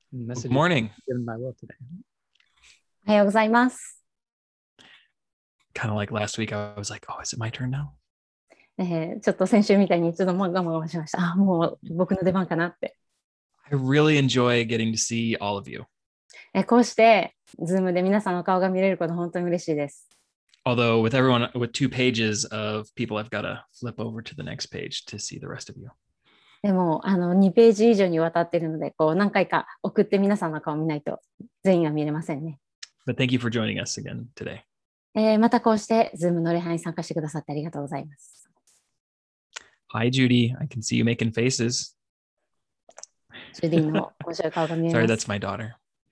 Good message morning. given by Will today. おはようございます。 Kind of like last week, I was like, oh, is it my turn now? ちょっと先週みたいにちょっともう我慢しました。もう僕の出番かなって。 I really enjoy getting to see all of you. こうして、ズームで皆さんの顔が見れること本当に嬉しいです。 Although with everyone with 2 pages of people, I've got to flip over to the next page to see the rest of you. でも2ページ以上にわたっているので、こう何回か送って皆さんの顔を見ないと全員は見れませんね。 But thank you for joining us again today. またこうして、ズームの礼拝に参加してくださってありがとうございます。 Hi, Judy. I can see you making faces. ジュディの面白い顔が見えます。 Sorry, that's my daughter.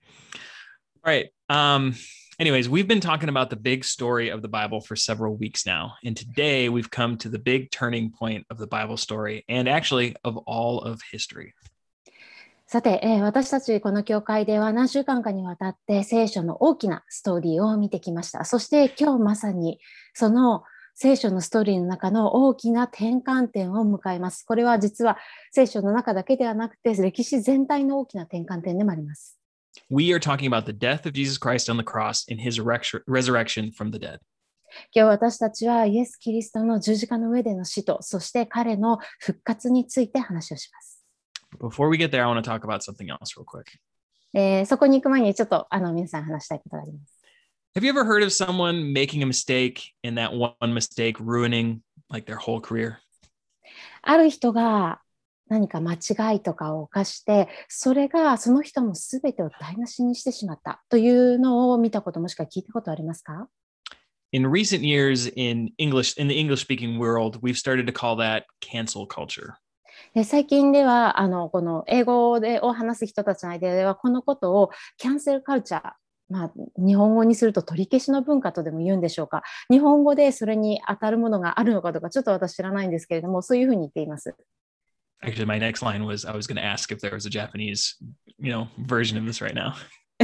All right. Anyways, we've been talking about the big story of the Bible for several weeks now. And today we've come to the big turning point of the Bible story and actually of all of history. さて、私たちこの教会では何週間かにわたって聖書の大きなストーリーを見てきました。そして今日まさにその聖書のストーリーの中の大きな転換点を迎えます。これは実は聖書の中だけではなくて歴史全体の大きな転換点でもあります。 We are talking about the death of Jesus Christ on the cross and his resurrection from the dead. 今日私たちはイエス・キリストの十字架の上での死と、そして彼の復活について話をします。 Before we get there, I want to talk about something else real quick. そこに行く前にちょっと皆さん話したいことがあります。 Have you ever heard of someone making a mistake and that one mistake ruining like their whole career? ある人が何か間違いとかを犯して、それがその人のすべてを台無しにしてしまったというのを見たこともしくは聞いたことありますか？ In recent years in the English-speaking world, we've started to call that cancel culture. 最近ではこの英語を話す人たちの間ではこのことをキャンセルカルチャー、日本語にすると取り消しの文化とでも言うんでしょうか。日本語でそれに当たるものがあるのかどうかちょっと私知らないんですけれども、そういうふうに言っています。 Actually, my next line was I was going to ask if there was a Japanese, version of this right now.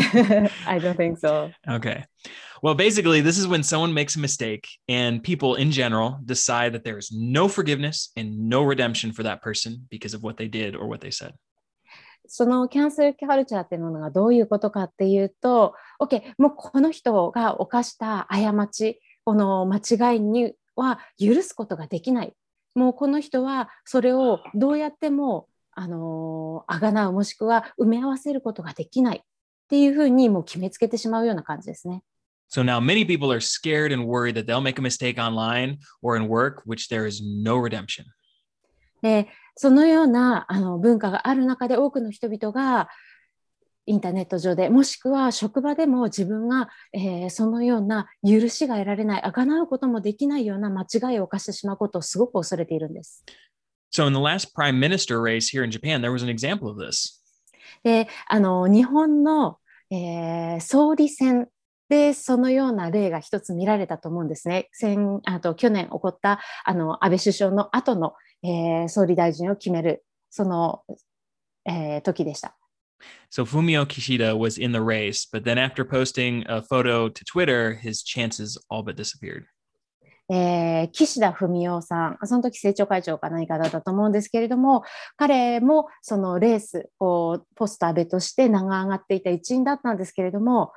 I don't think so. Okay. Well, basically, this is when someone makes a mistake and people in general decide that there is no forgiveness and no redemption for that person because of what they did or what they said. そのキャンセルカルチャーっていうものがどういうことかっていうと、OK、もうこの人が犯した過ち、この間違いには許すことができない。もうこの人はそれをどうやってもあがなうもしくは埋め合わせることができないっていうふうにもう決めつけてしまうような感じですね。 So now many people are scared and worried that they'll make a mistake online or in work, which there is no redemption. そのような文化がある中で多くの人々がインターネット上でもしくは職場でも自分が、そのような許しが得られない、あがなうこともできないような間違いを犯してしまうことをすごく恐れているんです。 So in the last prime minister race here in Japan, there was an example of this. で、日本の、総理選でそのような例が一つ見られたと思うんですね。去年起こった安倍首相の後の、総理大臣を決めるその、時でした。 So Fumio Kishida was in the race, but then after posting a photo to Twitter, his chances all but disappeared. 岸田文雄さん、その時政調会長か何かだったと思うんですけれども、彼もそのレース、ポスト安倍として名が上がっていた一員だったんですけれども、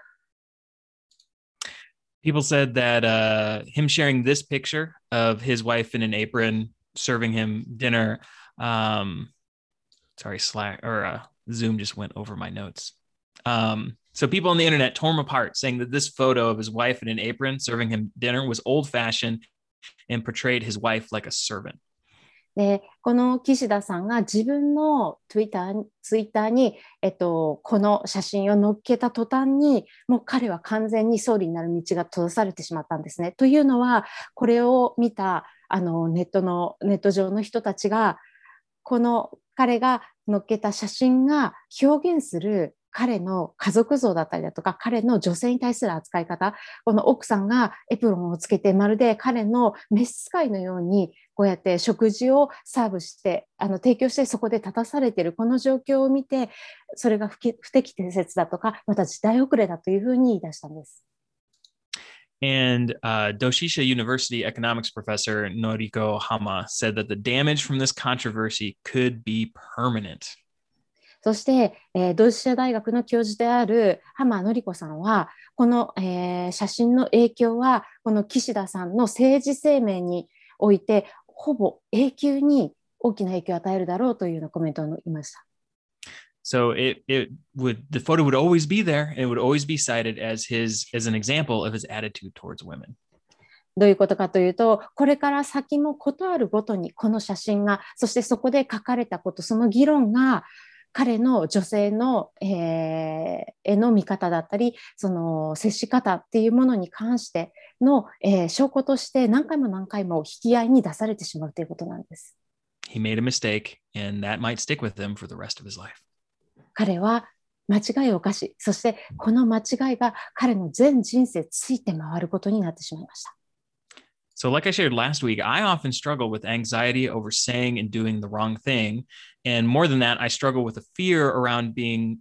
People said that him sharing this picture of his wife in an apron serving him dinner, Zoom just went over my notes. So people on the internet tore him apart, saying that this photo of his wife in an apron serving him dinner was old-fashioned and portrayed his wife like a servant. で、この岸田さんが自分のツイッターに、この写真を載っけた途端に、もう彼は完全に総理になる道が閉ざされてしまったんですね。というのは、これを見たネット上の人たちが、この彼が載っけた写真が表現する彼の家族像だったりだとか、彼の女性に対する扱い方、この奥さんがエプロンをつけて、まるで彼の召使いのように、こうやって食事をサーブして、提供してそこで立たされているこの状況を見て、それが不適切だとか、また時代遅れだというふうに言い出したんです。 And Doshisha University economics professor Noriko Hama said that the damage from this controversy could be permanent. そして、同志社大学の教授である浜典子さんは、この、写真の影響は、この岸田さんの政治生命において、ほぼ永久に大きな影響を与えるだろうというようなコメントを言いました。 So the photo would always be there and it would always be cited as an example of his attitude towards women. どういうことかというと、これから先もことあるごとにこの写真が、そしてそこで書かれたこと、その議論が彼の女性の、への見方だったり、その接し方っていうものに関しての、証拠として何回も何回も引き合いに出されてしまうということなんです。 He made a mistake and that might stick with him for the rest of his life. 彼は間違いを犯し、そしてこの間違いが彼の全人生ついて回ることになってしまいました。 So, like I shared last week, I often struggle with anxiety over saying and doing the wrong thing. And more than that, I struggle with a fear around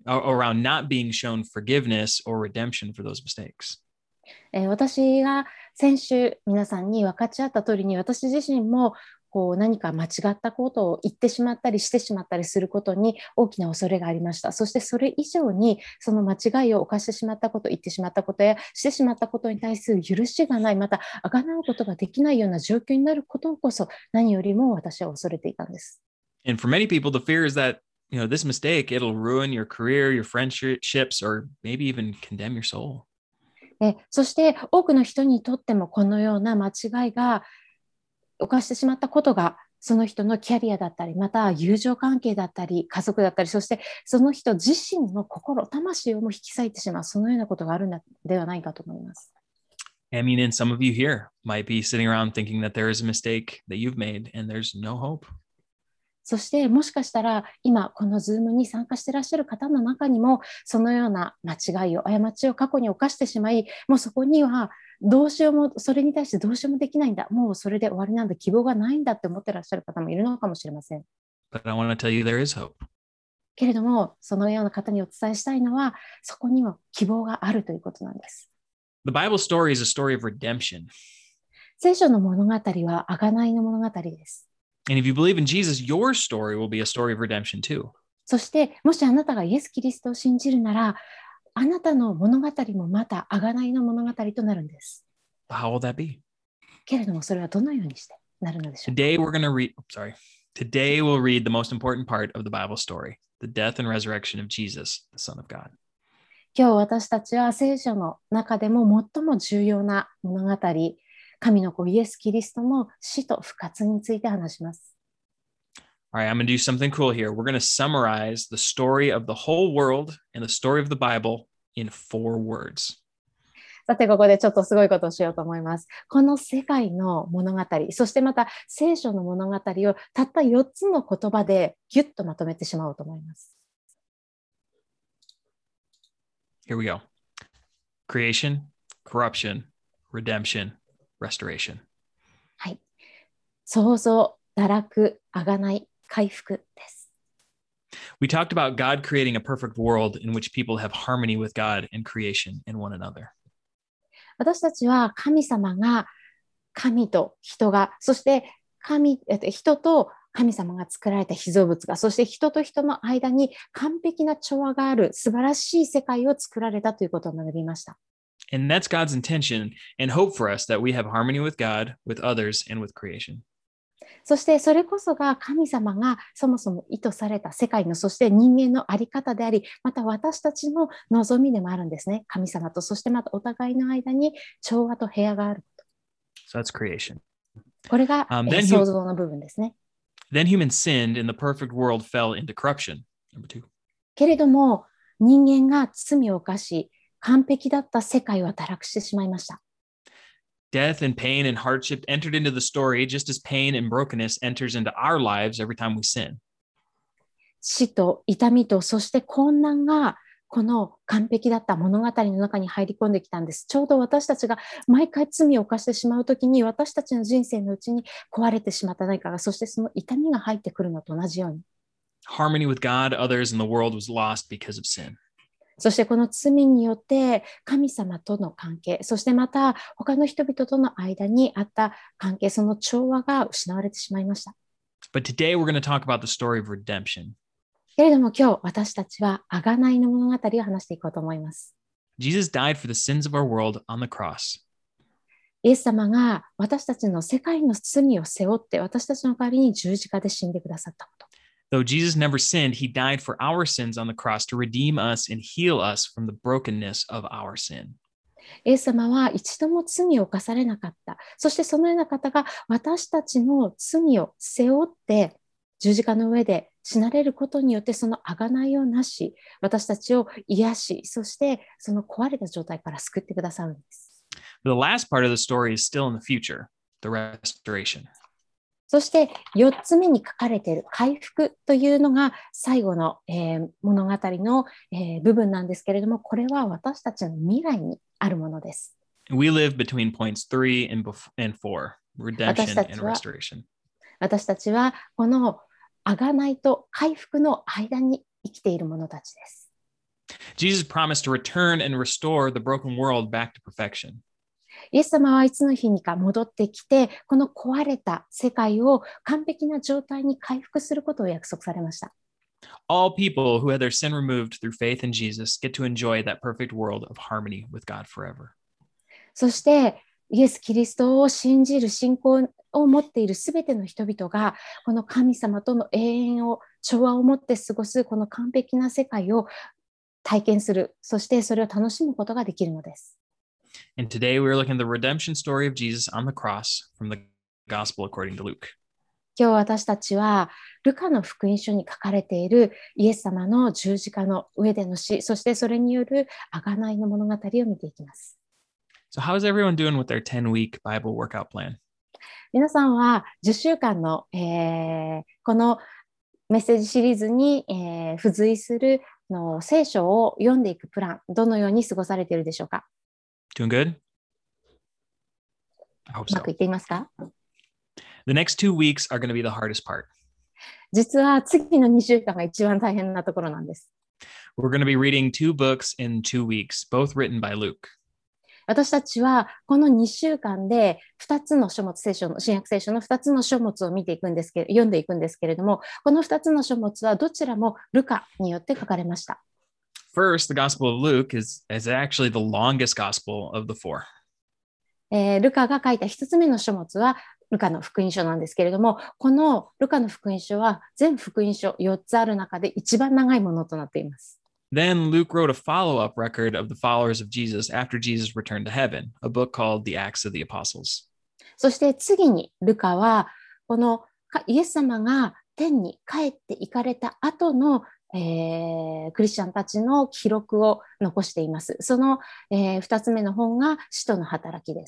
not being shown forgiveness or redemption for those mistakes. 私が先週皆さんに分かち合った通りに、私自身もこう何か間違ったことを言ってしまったりしてしまったりすることに大きな恐れがありました。そしてそれ以上にその間違いを犯してしまったこと、言ってしまったことやしてしまったことに対する許しがない、また贖うことができないような状況になることこそ何よりも私は恐れていたんです。 And for many people, the fear is that, this mistake, it'll ruin your career, your friendships, or maybe even condemn your soul. そして多くの人にとってもこのような間違いが犯してしまったことがその人のキャリアだったり、また友情関係だったり、家族だったり、そしてその人自身の心、魂をも引き裂いてしまう、そのようなことがあるのではないかと思います。 I mean, and some of you here might be sitting around thinking that there is a mistake that you've made and there's no hope. そしてもしかしたら今このズームに参加していらっしゃる方の中にもそのような間違いを過ちを過去に犯してしまい、もうそこにはどうしようも、それに対してどうしようもできないんだ、もうそれで終わりなんだ、希望がないんだって思ってらっしゃる方もいるのかもしれません。 But I want to tell you there is hope. けれどもそのような方にお伝えしたいのは、そこには希望があるということなんです。 The Bible story is a story of redemption. 聖書の物語は贖いの物語です。 And if you believe in Jesus, your story will be a story of redemption too. そしてもしあなたがイエス・キリストを信じるなら、あなたの物語もまた贖いの物語となるんです。 How will that be? けれどもそれはどのようにしてなるのでしょうか。 Today we'll read the most important part of the Bible story, the death and resurrection of Jesus, the Son of God. 今日私たちは聖書の中でも最も重要な物語、神の子イエス・キリストの死と復活について話します。 All right, I'm going to do something cool here. We're going to summarize the story of the whole world and the story of the Bible in 4 words. さてここでちょっとすごいことをしようと思います。この世界の物語、そしてまた聖書の物語をたった4つの言葉でギュッとまとめてしまおうと思います。 Here we go. Creation, corruption, redemption, restoration. はい。創造、堕落、贖い、回復です。 We talked about God creating a perfect world in which people have harmony with God and creation and one another. 私たちは神様が神と人が、そして人と神様が作られた被造物が、そして人と人の間に完璧な調和がある素晴らしい世界を作られたということを学びました。 And that's God's intention and hope for us, that we have harmony with God, with others, and with creation. そしてそれこそが神様がそもそも意図された世界の、そして人間の在り方であり、また私たちの望みでもあるんですね。神様と、そしてまたお互いの間に調和と平和があること。 So that's creation. これが、創造の部分ですね。 Then humans sinned and the perfect world fell into corruption. Number 2. けれども人間が罪を犯し、完璧だった世界は堕落してしまいました。 Death and pain and hardship entered into the story just as pain and brokenness enters into our lives every time we sin. 死と痛みと、そして困難がこの完璧だった物語の中に入り込んできたんです。ちょうど私たちが毎回罪を犯してしまうときに、私たちの人生のうちに壊れてしまった何かが、そしてその痛みが入ってくるのと同じように。 Harmony with God, others, and the world was lost because of sin. そしてこの罪によって神様との関係、そしてまた他の人々との間にあった関係、その調和が失われてしまいました。 But today we're going to talk about the story of redemption. けれども今日私たちは贖いの物語を話していこうと思います。 Jesus died for the sins of our world on the cross. イエス様が私たちの世界の罪を背負って私たちの代わりに十字架で死んでくださったこと。 Though Jesus never sinned, he died for our sins on the cross to redeem us and heal us from the brokenness of our sin. イエス様は一度も罪を犯されなかった。そしてそのような方が私たちの罪を背負って十字架の上で死なれることによってその贖いをなし、私たちを癒し、そしてその壊れた状態から救ってくださるんです。 The last part of the story is still in the future, the restoration. そして4つ目に書かれている回復というのが最後の、物語の、部分なんですけれども、これは私たちの未来にあるものです。 We live between points 3 and 4, redemption and restoration. 私たちはこの贖いと回復の間に生きている者たちです。 Jesus promised to return and restore the broken world back to perfection. イエス様はいつの日にか戻ってきて、この壊れた世界を完璧な状態に回復することを約束されました。 All people who had their sin removed through faith in Jesus get to enjoy that perfect world of harmony with God forever. そしてイエス・キリストを信じる信仰を持っているすべての人々がこの神様との永遠を調和を持って過ごすこの完璧な世界を体験する、そしてそれを楽しむことができるのです。 And today we're looking at the redemption story of Jesus on the cross from the Gospel according to Luke. 今日私たちはルカの福音書に書かれているイエス様の十字架の上での死、そしてそれによる贖いの物語を見ていきます。 So how is everyone doing with their 10-week Bible workout plan? 皆さんは10週間の、このメッセージシリーズに、付随するの聖書を読んでいくプラン、どのように過ごされているでしょうか？ Doing good? I hope うま so. くいっていますか？ The next 2 weeks are going to be the hardest part. 実は次の2週間が一番大変なところなんです。 We're going to be reading 2 books in 2 weeks, both written by Luke. 私たちはこの2週間で2つの書物、新約聖書の2つの書物を見ていくんですけど、読んでいくんですけれども、この2つの書物はどちらもルカによって書かれました。 First, the Gospel of Luke is actually the longest Gospel of the 4. ルカが書いた1つ目の書物はルカの福音書なんですけれども、このルカの福音書は全福音書4つある中で一番長いものとなっています。 Then Luke wrote a follow-up record of the followers of Jesus after Jesus returned to heaven, a book called The Acts of the Apostles. そして次にルカはこのイエス様が天に帰って行かれた後の、クリスチャンたちの記録を残しています。その、2つ目の本が使徒の働きです。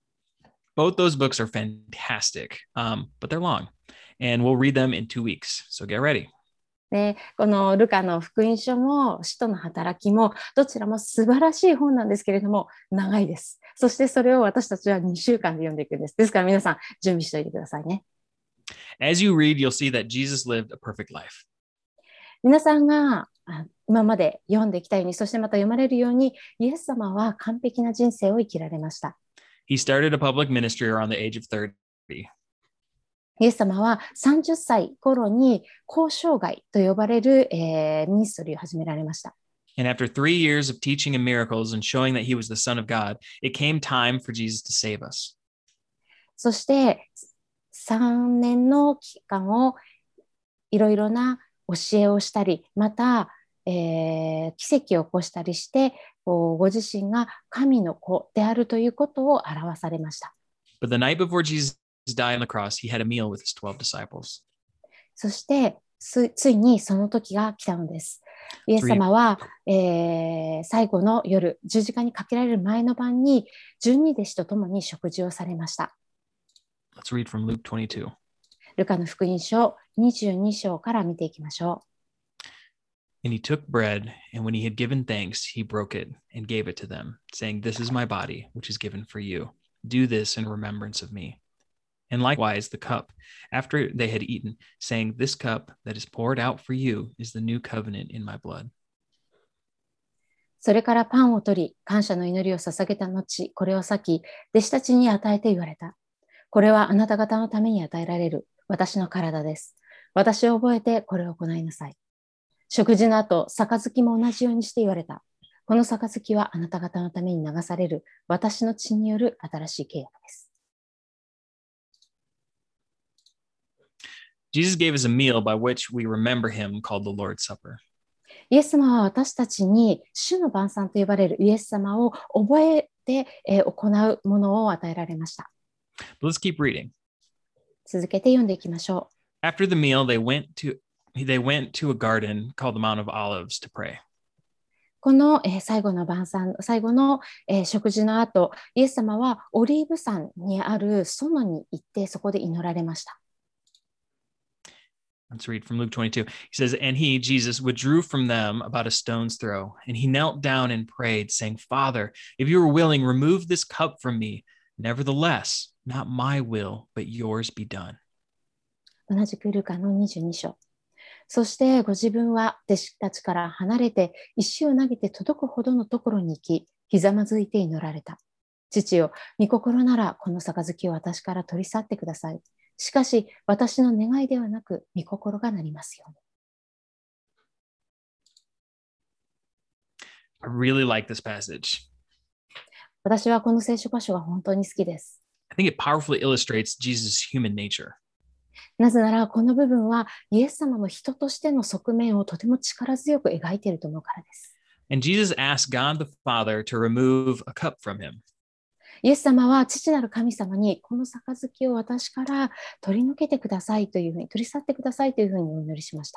Both those books are fantastic, but they're long, and we'll read them in 2 weeks, so get ready. でこのルカの福音書も使徒の働きもどちらも素晴らしい本なんですけれども長いです。そしてそれを私たちは2週間で読んでいくんです。ですから皆さん準備しておいてくださいね。 As you read, you'll see that Jesus lived a perfect life. 皆さんが今まで読んできたように、そしてまた読まれるように、イエス様は完璧な人生を生きられました。 He started a public ministry around the age of 30. イエス様は30歳頃に交渉外と呼ばれる、ミニストリーを始められました。 And after 3 years of teaching and miracles and showing that he was the Son of God, it came time for Jesus to save us. そして3年の期間をいろいろな教えをしたり、また、奇跡を起こしたりして、ご自身が神の子であるということを表されました。 But the night before Jesus died on the cross, he had a meal with his 12 disciples. そしてついにその時が来たのです。イエス様は、最後の夜、十字架にかけられる前の晩に、12弟子と共に食事をされました。 Let's read from Luke 22. ルカの福音書22章から見ていきましょう。 And he took bread, and when he had given thanks, he broke it and gave it to them, saying, This is my body, which is given for you. Do this in remembrance of me. And likewise the cup, after they had eaten, saying, This cup that is poured out for you is the new covenant in my blood. それからパンを取り、感謝の祈りを捧げた後、これを裂き、弟子たちに与えて言われた。これはあなた方のために与えられる私の体です。私を覚えてこれを行いなさい。 食事の後、杯も同じようにして言われた。この杯はあなた方のために流される私の血による新しい契約です。 Jesus gave us a meal by which we remember him called the Lord's Supper. イエス様は私たちに主の晩餐と呼ばれるイエス様を覚えて行うものを与えられました。 But let's keep reading. 続けて読んでいきましょう。After the meal, they went to a garden called the Mount of Olives to pray. この最後の晩餐、最後の食事の後、イエス様はオリーブ山にある園に行ってそこで祈られました。 Let's read from Luke 22. He says, and he, Jesus, withdrew from them about a stone's throw, and he knelt down and prayed, saying, Father, if you are willing, remove this cup from me. Nevertheless, not my will, but yours be done. 同じくルカの22章。そしてご自分は弟子たちから離れて石を投げて届くほどのところに行き、ひざまずいて祈られた。父よ、御心ならこの杯を私から取り去ってください。しかし私の願いではなく御心がなりますように。 I really like this passage. 私はこの聖書箇所が本当に好きです。 I think it powerfully illustrates Jesus' human nature. なぜならこの部分はイエス様の人としての側面をとても力強く描いていると思うからです。 And Jesus asked God the Father to remove a cup from him. イエス様は父なる神様にこの杯を私から取り除けてくださいというふうに、取り去ってくださいというふうにお祈りしました。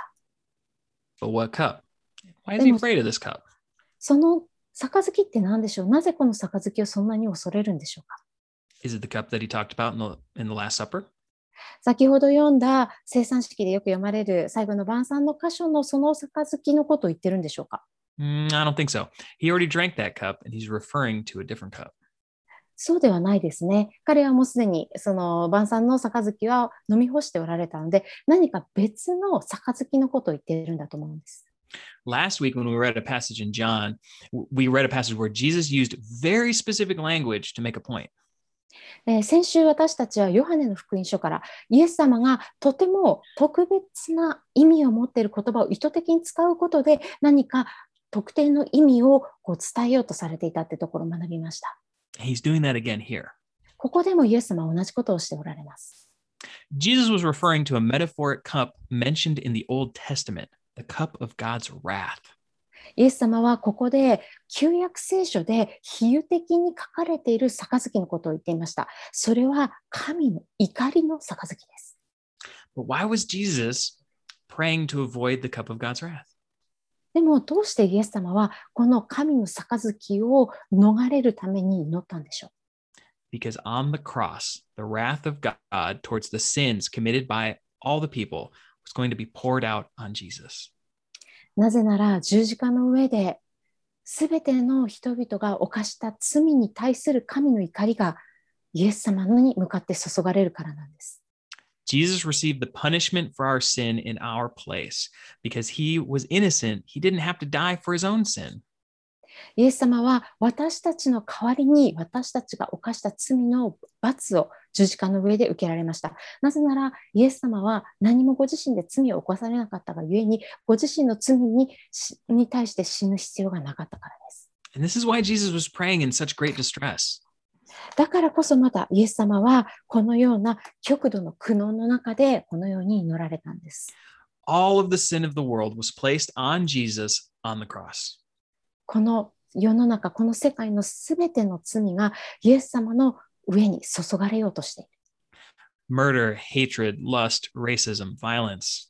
But what cup? Why is he afraid of this cup? その杯って何でしょう？なぜこの杯をそんなに恐れるんでしょうか？ Is it the cup that he talked about in the Last Supper? 先ほど読んだ聖餐式でよく読まれる最後の晩餐の箇所のその杯のことを言ってるんでしょうか？ I don't think so. He already drank that cup and he's referring to a different cup. そうではないですね。彼はもうすでにその晩餐の杯は飲み干しておられたので、何か別の杯のことを言っているんだと思うんです。 Last week, when we read a passage in John, we read a passage where Jesus used very specific language to make a point. 先週私たちはヨハネの福音書からイエス様がとても特別な意味を持っている言葉を意図的に使うことで何か特定の意味を伝えようとされていたってところを学びました。 He's doing that again here. ここでもイエス様は同じことをしておられます。 Jesus was referring to a metaphoric cup mentioned in the Old Testament, the cup of God's wrath. イエス様はここで旧約聖書で比喩的に書かれている杯のことを言っていました。それは神の怒りの杯です。 But why was Jesus praying to avoid the cup of God's wrath? でもどうしてイエス様はこの神の杯を逃れるために祈ったんでしょう？ Because on the cross, the wrath of God towards the sins committed by all the people was going to be poured out on Jesus. なぜなら十字架の上で全ての人々が犯した罪に対する神の怒りがイエス様に向かって注がれるからなんです。 Jesus received the punishment for our sin in our place. Because he was innocent, he didn't have to die for his own sin. イエス様は私たちの代わりに私たちが犯した罪の罰を十字架の上で受けられました。なぜならイエス様は何もご自身で罪を犯されなかったがゆえにご自身の罪に対して死ぬ必要がなかったからです。 And this is why Jesus was praying in such great distress. だからこそまたイエス様はこのような極度の苦悩の中でこのように祈られたんです。 All of the sin of the world was placed on Jesus on the cross. この世の中、この世界のすべての罪がイエス様の上に注がれようとしている。 Murder, hatred, lust, racism, violence.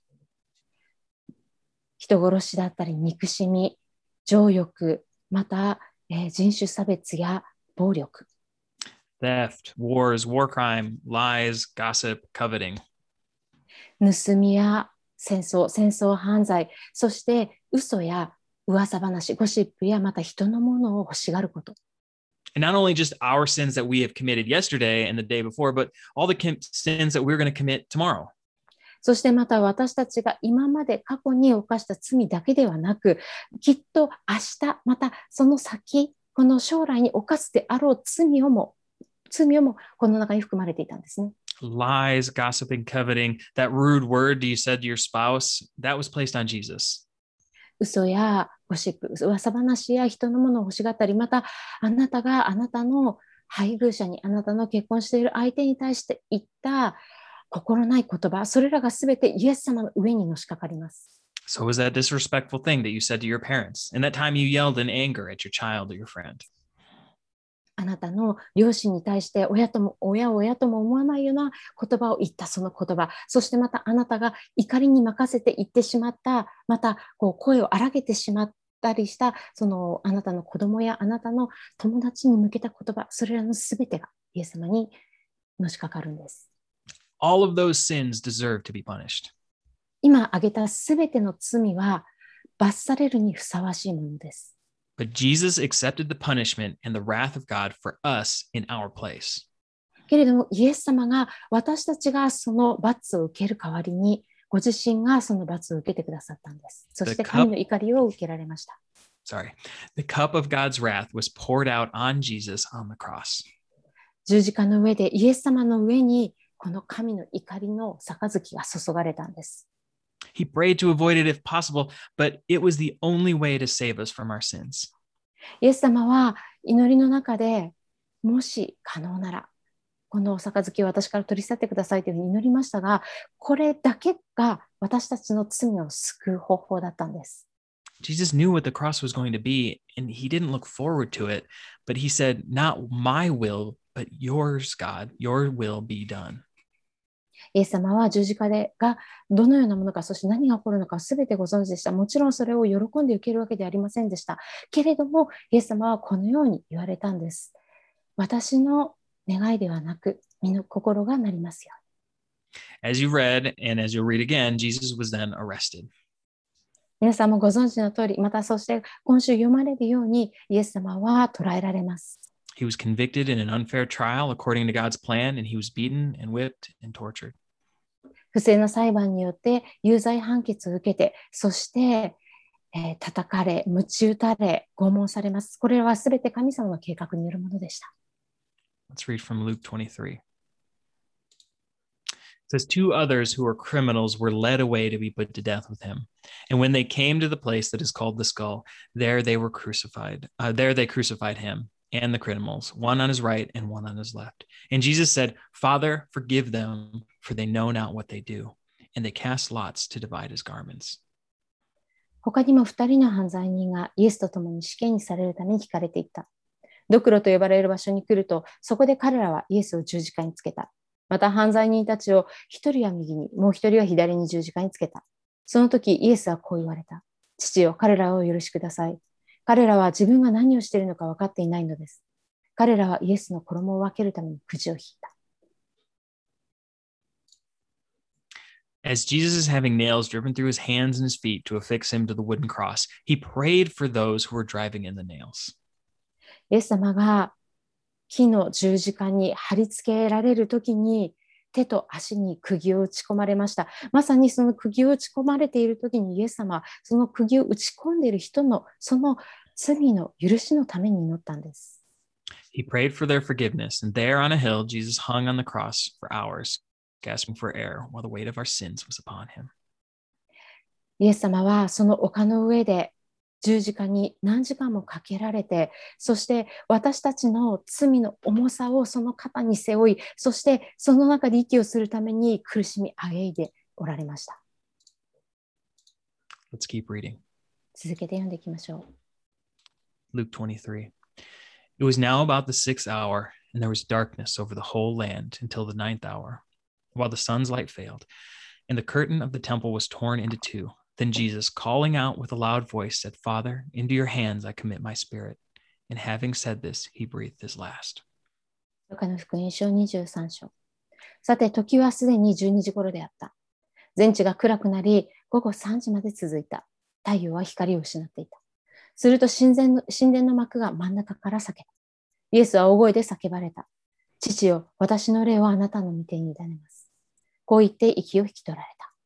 人殺しだったり、憎しみ、情欲、また、人種差別や暴力。 Theft, wars, war crime, lies, gossip, coveting. 盗みや戦争犯罪、そして嘘や噂話、ゴシップやまた人のものを欲しがること。 And not only just our sins that we have committed yesterday and the day before, but all the sins that we're going to commit tomorrow. そしてまた私たちが今まで過去に犯した罪だけではなく、きっと明日、またその先、この将来に犯すであろう罪をもこの中に含まれていたんですね。 Lies, gossiping, coveting, that rude word you said to your spouse, that was placed on Jesus. 嘘やゴシップ、噂話や人のものを欲しがったり、またあなたがあなたの配偶者に、あなたの結婚している相手に対して言った心ない言葉、それらがすべてイエス様の上にのしかかります。 So was that disrespectful thing that you said to your parents? And that time you yelled in anger at your child or your friend? あなたの両親に対して親とも思わないような言葉を言ったその言葉、そしてまたあなたが怒りに任せて言ってしまった、またこう声を荒げてしまったりした、そのあなたの子供やあなたの友達に向けた言葉、それらのすべてがイエス様にのしかかるんです。 All of those sins deserve to be punished. 今挙げたすべての罪は罰されるにふさわしいものです。 But Jesus accepted the punishment and the wrath of God for us in our place. けれどもイエス様が私たちがその罰を受ける代わりにご自身がその罰を受けてくださったんです。そして神の怒りを受けられました。 The cup of God's wrath was poured out on Jesus on the cross. 十字架の上でイエス様の上にこの神の怒りの杯が注がれたんです。 He prayed to avoid it if possible, but it was the only way to save us from our sins. イエス様は祈りの中でもし可能ならこの杯を私から取り去ってくださいというふうに祈りましたが、これだけが私たちの罪を救う方法だったんです。 Jesus knew what the cross was going to be, and he didn't look forward to it, but he said, "Not my will, but yours, God, your will be done." イエス様は十字架がどのようなものか、そして何が起こるのかすべてご存知でした。もちろんそれを喜んで受けるわけではありませんでした。けれども、イエス様はこのように言われたんです。私の願いではなく、身の心がなりますように。 As you read, and as you'll read again, Jesus was then arrested. 皆さんもご存知の通り、またそして今週読まれるように、イエス様は捕らえられます。 He was convicted in an unfair trial according to God's plan, and he was beaten and whipped and tortured. 不正な裁判によって有罪判決を受けて、そして、叩かれ、鞭打たれ、拷問されます。これはすべて神様の計画によるものでした。 Let's read from Luke 23. It says, 2 others who were criminals were led away to be put to death with him. And when they came to the place that is called the skull, there they crucified him and the criminals, one on his right and one on his left. And Jesus said, "Father, forgive them, for they know not what they do." And they cast lots to divide his garments. 他にも2人の犯罪人がイエスと共に死刑にされるために引かれていった。ドクロと呼ばれる場所に来ると、そこで彼らはイエスを十字架につけた。また犯罪人たちを一人は右に、もう一人は左に十字架につけた。その時イエスはこう言われた。父よ、彼らをお許しください。彼らは自分が何をしているのか分かっていないのです。彼らはイエスの衣を分けるためにくじを引いた。 As Jesus is having nails driven through his hands and his feet to affix him to the wooden cross, he prayed for those who were driving in the nails. イエス様が木の十字架に貼り付けられるときに手と足に釘を打ち込まれました。まさにその釘を打ち込まれているときにイエス様はその釘を打ち込んでいる人のその罪の許しのために祈ったんです。 He prayed for their forgiveness, and there on a hill, Jesus hung on the cross for hours, gasping for air while the weight of our sins was upon him. イエス様はその丘の上で十字架に何時間もかけられて、そして私たちの罪の重さをその肩に背負い、そしてその中で息をするために苦しみあげいでおられました。 Let's keep reading. 続けて読んでいきましょう。Luke 23. It was now about the 6th hour, and there was darkness over the whole land until the 9th hour, while the sun's light failed, and the curtain of the temple was torn into 2. Then Jesus, calling out with a loud voice, said, "Father, into your hands I commit my spirit." And having said this, he breathed his last. ルカの福音書23章。さて、時はすでに12時頃であった。全地が暗くなり、午後3時まで続いた。太陽は光を失っていた。すると神殿の幕が真ん中から裂けた。イエスは大声で叫ばれた。父よ、私の霊をあなたの御手に委ねます。こう言って息を引き取られた。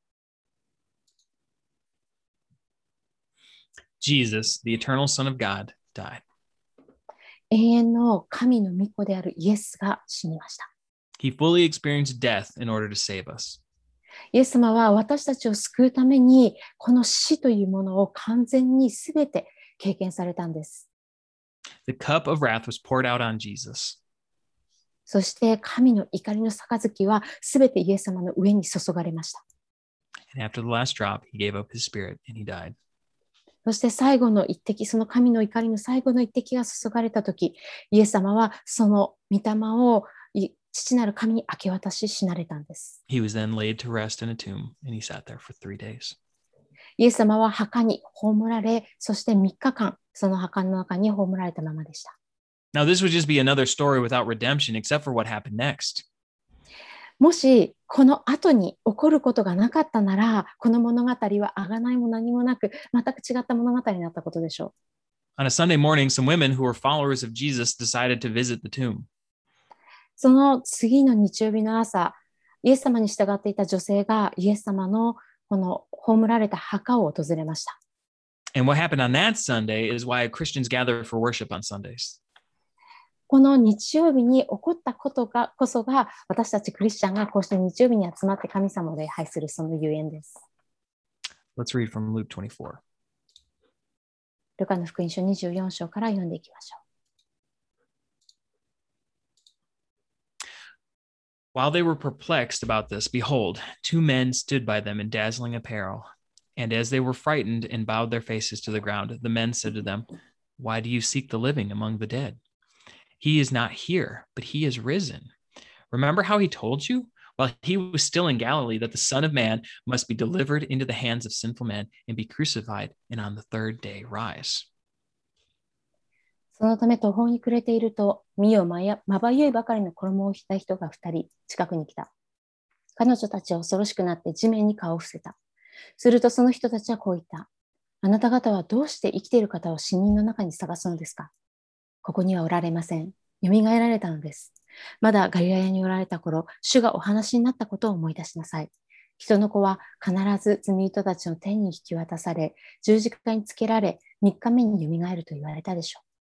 Jesus, the eternal Son of God, died. 永遠の神の御子であるイエスが死にました。 He fully experienced death in order to save us. イエス様は私たちを救うために、この死というものを完全にすべて経験されたんです。 The cup of wrath was poured out on Jesus. そして神の怒りの杯はすべてイエス様の上に注がれました。 And after the last drop, he gave up his spirit and he died. そして最後の一滴、その神の怒りの最後の一滴が注がれたとき、イエス様はその御霊を父なる神に明け渡し死なれたんです。 He was then laid to rest in a tomb and he sat there for 3 days. イエス様は墓に葬られ、そして3日間、その墓の中に葬られたままでした。 Now, this would just be another story without redemption, except for what happened next. もしこの後に起こることがなかったなら、この物語は贖いも何もなく、全く違った物語になったことでしょう。 On a Sunday morning, some women who were followers of Jesus decided to visit the tomb. その次の日曜日の朝、イエス様に従っていた女性がイエス様のこの葬られた墓を訪れました。 And what happened on that Sunday is why Christians gather for worship on Sundays. この日曜日に起こったことがこそが、私たちクリスチャンがこうして日曜日に集まって神様を礼拝するそのゆえんです。 Let's read from Luke 24. ルカの福音書24章から読んでいきましょう。 While they were perplexed about this, behold, 2 men stood by them in dazzling apparel. And as they were frightened and bowed their faces to the ground, the men said to them, Why do you seek the living among the dead? He is not here, but he is risen. Remember how he told you, while he was still in Galilee, that the Son of Man must be delivered into the hands of sinful men and be crucified, and on the third day rise. そのため途方に暮れていると、見よまばゆいばかりの衣を着た人が2人近くに来た。彼女たちは恐ろしくなって地面に顔を伏せた。するとその人たちはこう言った。あなた方はどうして生きている方を死人の中に探すのですか？ここにはおられません。よみがえられたのです。まだガリラヤにおられた頃、主がお話になったことを思い出しなさい。人の子は必ず罪人たちの手に引き渡され、十字架につけられ、3日目によみがえると言われたでしょ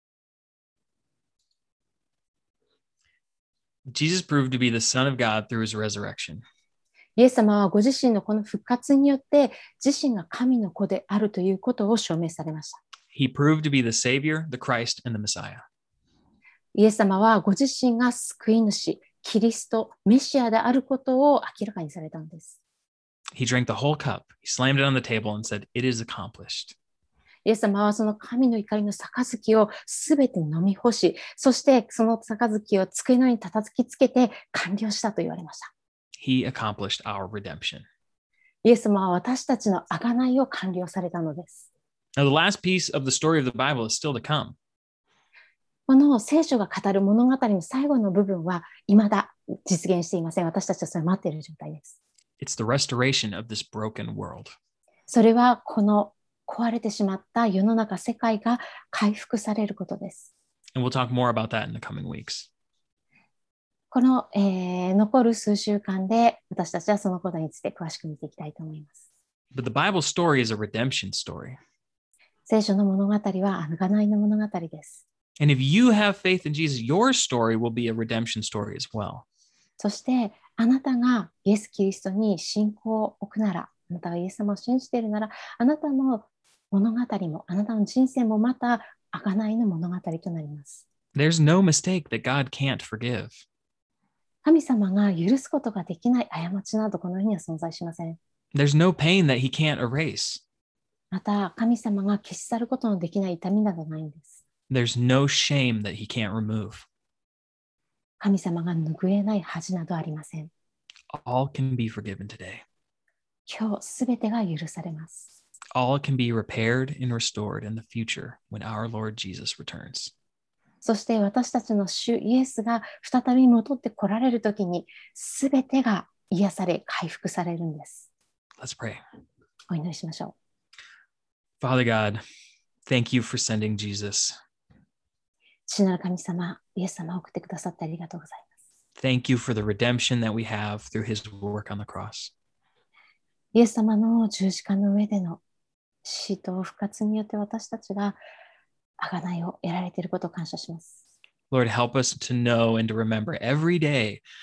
う。Jesus proved to be the Son of God through his resurrection. イエス様はご自身のこの復活によって自身が神の子であるということを証明されました。 He proved to be the Savior, the Christ, and the Messiah. イエス様はご自身が救い主、キリスト、メシアであることを明らかにされたのです。 He drank the whole cup. He slammed it on the table and said, It is accomplished. イエス様はその神の怒りの杯をすべて飲み干し、そしてその杯を机の上に叩きつけて完了したと言われました。 He accomplished our redemption. イエス様は私たちの贖いを完了されたのです。 Now, the last piece of the story of the Bible is still to come. この聖書が語る物語の最後の部分は未だ実現していません。私たちはそれを待っている状態です。 It's the restoration of this broken world. それはこの壊れてしまった世の中、世界が回復されることです。 And we'll talk more about that in the coming weeks. この、残る数週間で私たちはそのことについて詳しく見ていきたいと思います。 But the Bible story is a redemption story. 聖書の物語は贖いの物語です。 And if you have faith in Jesus, your story will be a redemption story as well. そしてあなたがイエス・キリストに信仰を置くなら、あなたがイエス様を信じているなら、あなたの物語も、あなたの人生もまた贖いの物語となります。 There's no mistake that God can't forgive. 神様が許すことができない過ちなどこの世には存在しません。 There's no pain that he can't erase. また神様が消し去ることのできない痛みなどないんです。 There's no shame that he can't remove. 神様が拭えない恥などありません。 All can be forgiven today. 今日すべてが許されます。 All can be repaired and restored in the future when our Lord Jesus returns. そして私たちの主イエスが再び戻って来られるときに、すべてが癒され、回復されるんです。 Let's pray. お祈りしましょう。 Father God, thank you for sending Jesus. 父なる神様、イエス様を送ってくださってありがとうございます。 Thank you for the redemption that we have through his work on the cross. イエス様の十字架の上での死と復活によって私たちが贖いを得られていることを感謝します。 Lord, help us to know and to remember every day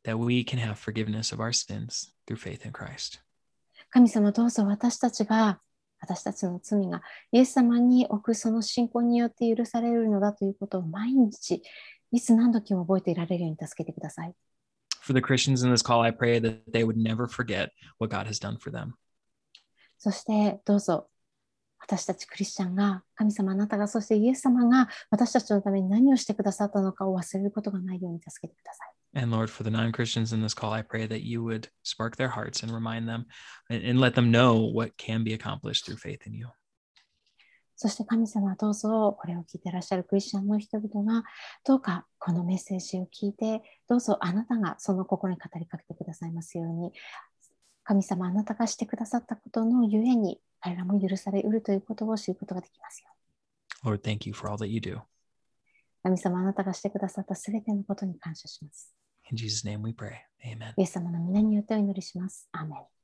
that we can have forgiveness of our sins through faith in Christ. 神様どうぞ私たちの罪がイエス様に置くその信仰によって許されるのだということを毎日いつ何時も覚えていられるように助けてください。 For the Christians in this call, I pray that they would never forget what God has done for them. そしてどうぞ私たちクリスチャンが神様あなたがそしてイエス様が私たちのために何をしてくださったのかを忘れることがないように助けてください。 And Lord, for the non-Christians in this call, I pray that you would spark their hearts and remind them and let them know what can be accomplished through faith in you. そして神様どうぞこれを聞いていらっしゃるクリスチャンの人々がどうかこのメッセージを聞いてどうぞあなたがその心に語りかけてくださいますように神様あなたがしてくださったことのゆえに彼らも許されうるということを知ることができますよ。 Lord, thank you for all that you do. 神様あなたがしてくださったすべてのことに感謝します。 In Jesus' name we pray. Amen. イエス様の皆によってお祈りします。アーメン。